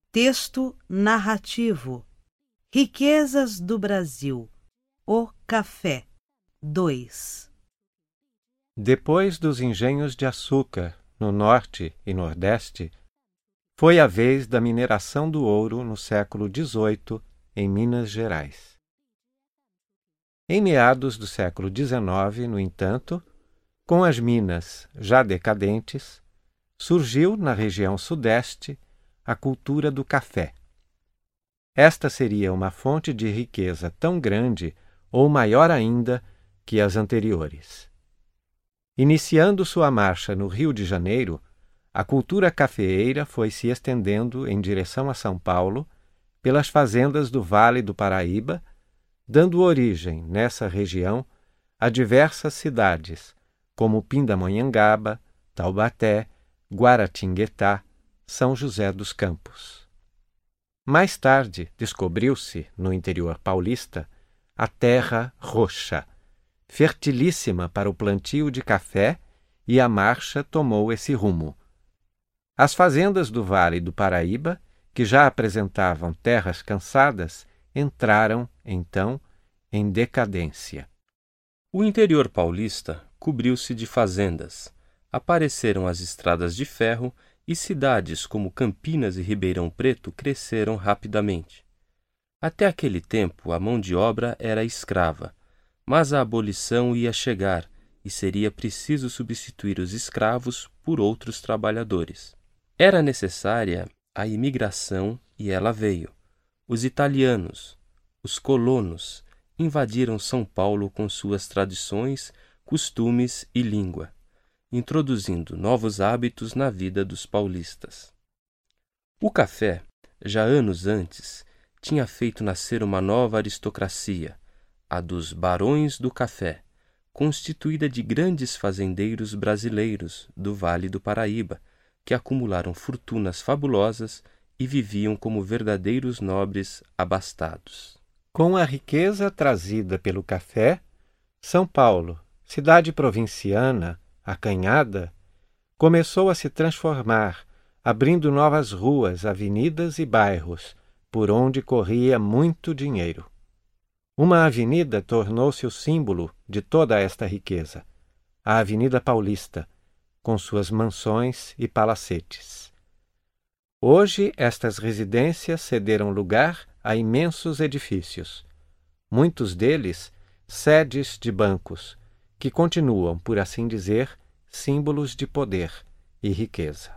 Texto narrativo. Riquezas do Brasil. O café. 2. Depois dos engenhos de açúcar, no norte e nordeste, foi a vez da mineração do ouro no século XVIII, em Minas Gerais. Em meados do século XIX, no entanto, com as minas já decadentes, surgiu na região sudeste a cultura do café. Esta seria uma fonte de riqueza tão grande ou maior ainda que as anteriores. Iniciando sua marcha no Rio de Janeiro, a cultura cafeeira foi se estendendo em direção a São Paulo, pelas fazendas do Vale do Paraíba, dando origem, nessa região, a diversas cidades, como Pindamonhangaba, Taubaté, Guaratinguetá, São José dos Campos. Mais tarde, descobriu-se, no interior paulista, a terra roxa, fertilíssima para o plantio de café, e a marcha tomou esse rumo. As fazendas do Vale do Paraíba, que já apresentavam terras cansadas, entraram, então, em decadência. O interior paulista cobriu-se de fazendas. Apareceram as estradas de ferro e cidades como Campinas e Ribeirão Preto cresceram rapidamente. Até aquele tempo, a mão de obra era escrava, mas a abolição ia chegar e seria preciso substituir os escravos por outros trabalhadores. Era necessária a imigração e ela veio. Os italianos, os colonos, invadiram São Paulo com suas tradições, costumes e língua, introduzindo novos hábitos na vida dos paulistas. O café, já anos antes, tinha feito nascer uma nova aristocracia, a dos barões do café, constituída de grandes fazendeiros brasileiros do Vale do Paraíba, que acumularam fortunas fabulosas e viviam como verdadeiros nobres abastados. Com a riqueza trazida pelo café, São Paulo, cidade provinciana, acanhada, começou a se transformar, abrindo novas ruas, avenidas e bairros, por onde corria muito dinheiro. Uma avenida tornou-se o símbolo de toda esta riqueza, a Avenida Paulista, com suas mansões e palacetes. Hoje, estas residências cederam lugar a imensos edifícios, muitos deles sedes de bancos, que continuam, por assim dizer, símbolos de poder e riqueza.